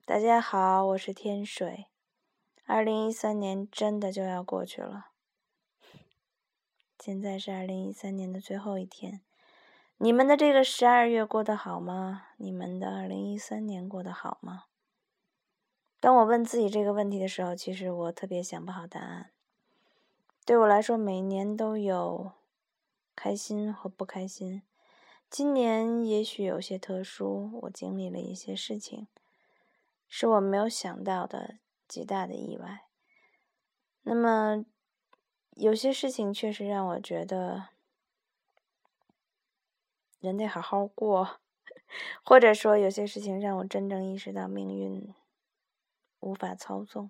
大家好，我是天水。2013年真的就要过去了，现在是2013年的最后一天。你们的这个12月过得好吗？你们的2013年过得好吗？当我问自己这个问题的时候，其实我特别想不好答案。对我来说，每年都有开心和不开心。今年也许有些特殊，我经历了一些事情，是我没有想到的极大的意外。那么有些事情确实让我觉得人得好好过，或者说有些事情让我真正意识到命运无法操纵。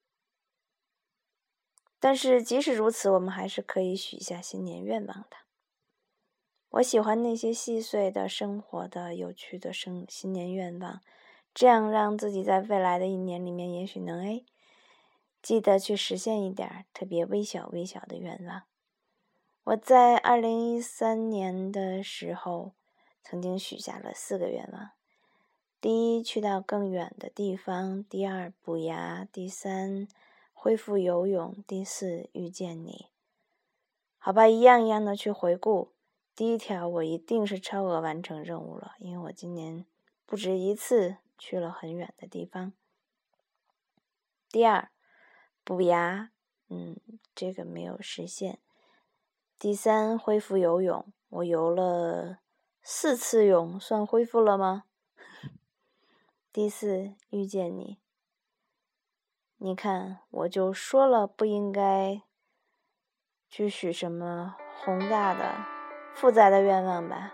但是即使如此，我们还是可以许下新年愿望的。我喜欢那些细碎的生活的有趣的新年愿望，这样让自己在未来的一年里面也许能记得去实现一点特别微小的愿望。我在2013年的时候曾经许下了4个愿望：第一，去到更远的地方；第二，补牙；第三，恢复游泳；第四，遇见你。好吧，一样一样的去回顾。第一条，我一定是超额完成任务了，因为我今年不止一次去了很远的地方。第二，补牙，这个没有实现。第三，恢复游泳，我游了4次泳，算恢复了吗？第四，遇见你。你看，我就说了不应该去许什么宏大的复杂的愿望吧。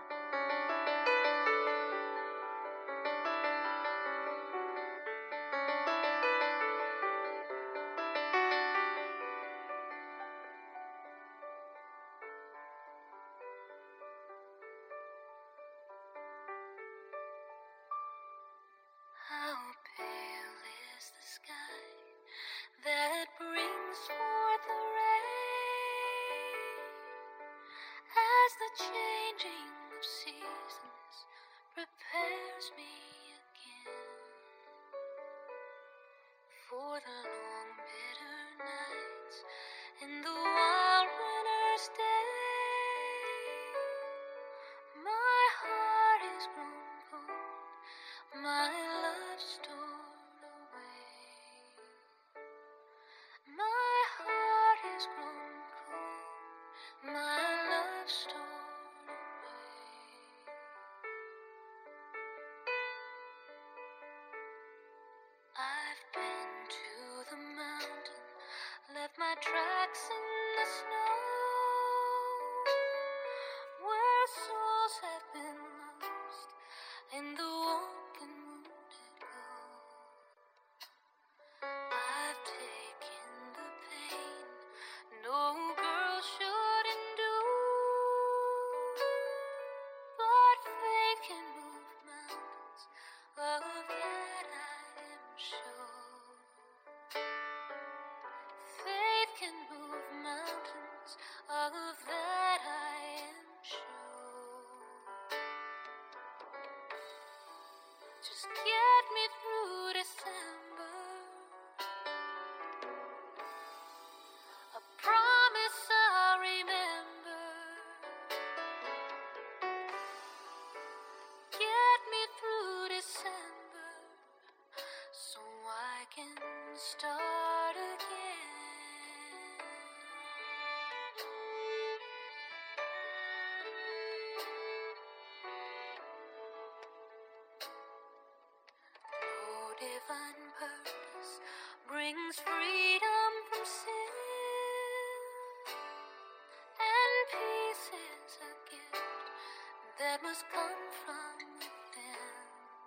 How pale is the sky that brings forth the rain, as the changing of seasons prepares me again for the long bitter nights and the wild winter's day. My heart is grown cold, my love stored away. My heart is grown cold, my love stored away. I've been to the mountain, left my tracks in the snow, where souls have been lost and the walking wounded go. I've taken the pain no girl should endure, but faith can move mountains, of that I am sure. Faith can move mountains, of that I am sure. Just get me through December, a promise I'll remember. Get me through December, so I can start again. No divine purpose brings freedom from sin, and peace is a gift that must come from within.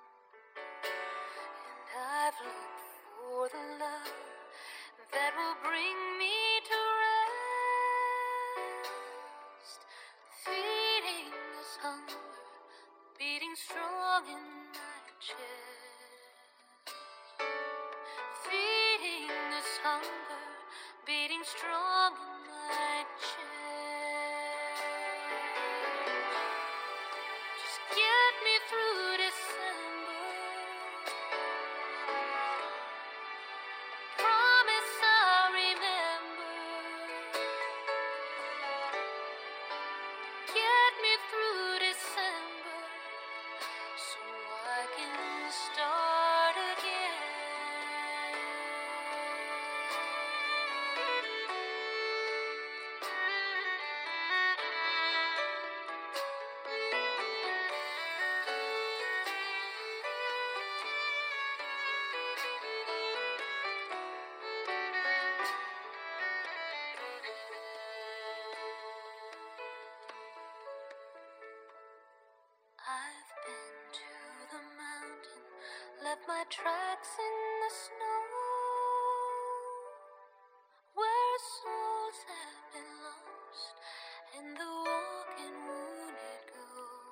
And I've looked for the love that will bring me to rest, feeding this hunger, beating strong in my chest. Feeding this hunger, beating strong in my chest. Just get me through December, my tracks in the snow, where souls have been lost and the walking wounded go.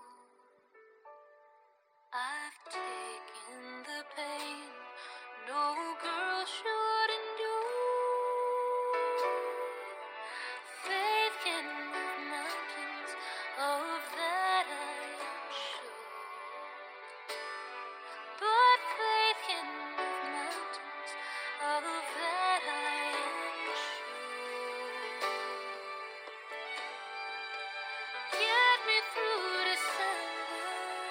I've taken the pain no girl should endure. Faith can move mountains, of that I am sure. But faith can move mountains, of that I am sure. Get me through December,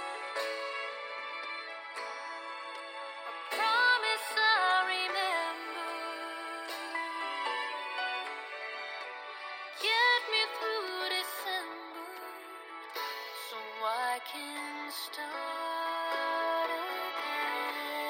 a promise I remember. Get me through December, so I can start again.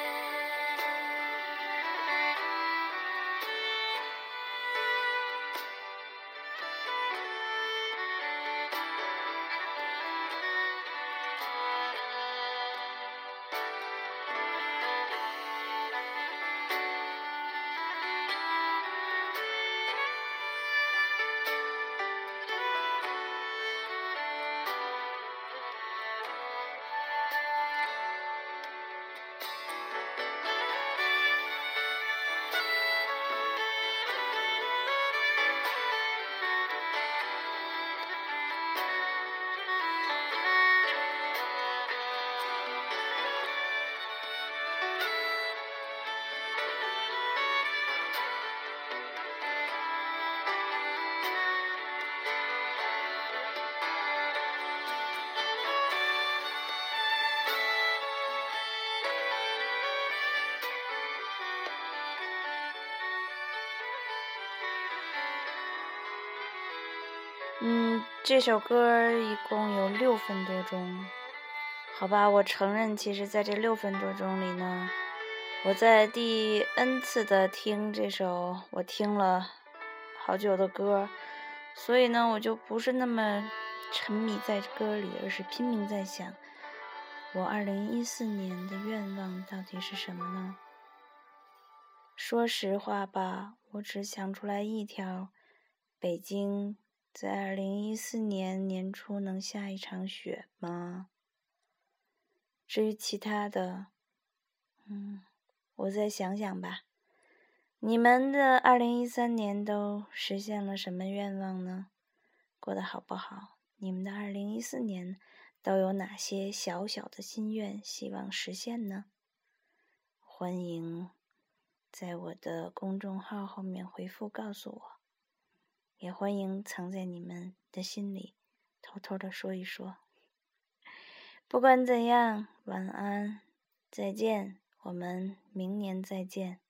这首歌一共有6分多钟，好吧，我承认，其实在这6分多钟里呢，我在第 N 次的听这首我听了好久的歌，所以呢，我就不是那么沉迷在歌里，而是拼命在想，我2014年的愿望到底是什么呢？说实话吧，我只想出来一条，北京在2014年年初能下一场雪吗？至于其他的，我再想想吧。你们的2013年都实现了什么愿望呢？过得好不好？你们的2014年都有哪些小小的心愿希望实现呢？欢迎在我的公众号后面回复告诉我，也欢迎藏在你们的心里偷偷的说一说。不管怎样，晚安，再见，我们明年再见。